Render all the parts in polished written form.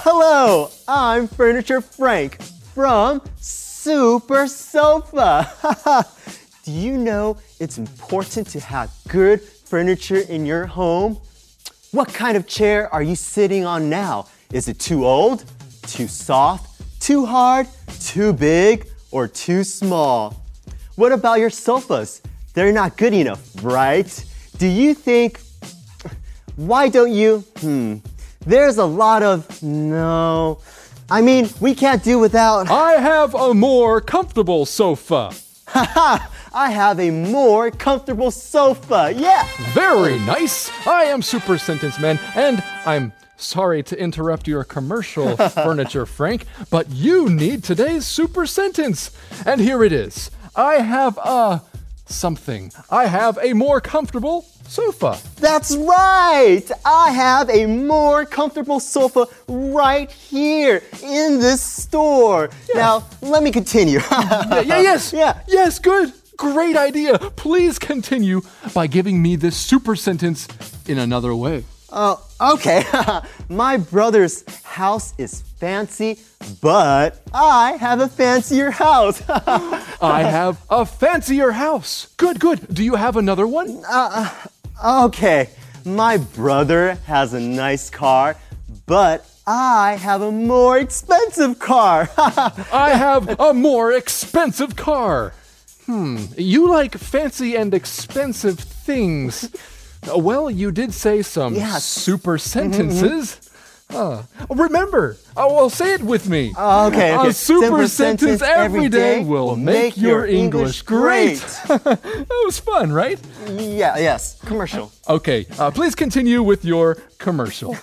Hello, I'm Furniture Frank from Super Sofa. Do you know it's important to have good furniture in your home? What kind of chair are you sitting on now? Is it too old, too soft, too hard, too big, or too small? What about your sofas? They're not good enough, right? Do you think, why don't you? There's a lot of, no. I mean, we can't do without. I have a more comfortable sofa. Haha, I have a more comfortable sofa, yeah. Very nice. I am Super Sentence Man, and I'm sorry to interrupt your commercial, Furniture Frank, but you need today's Super Sentence. And here it is. I have something. I have a more comfortable sofa. That's right! I have a more comfortable sofa right here in this store. Yeah. Now, let me continue. Yes, good. Great idea. Please continue by giving me this super sentence in another way. Okay. My brother's house is fancy, but I have a fancier house. I have a fancier house. Good. Do you have another one? Okay. My brother has a nice car, but I have a more expensive car. I have a more expensive car. You like fancy and expensive things. Well, you did say some super sentences. Remember, well, say it with me. Okay. A super sentence every day will make your English great. That was fun, right? Yes. Commercial. Okay, please continue with your commercial.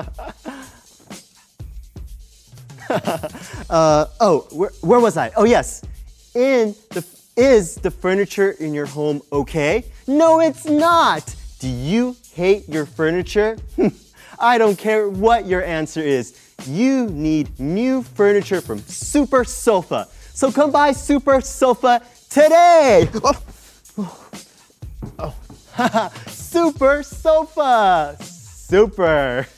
Where was I? Oh, yes. Is the furniture in your home okay? No, it's not. Do you hate your furniture? I don't care what your answer is. You need new furniture from Super Sofa. So come buy Super Sofa today. Super Sofa. Super.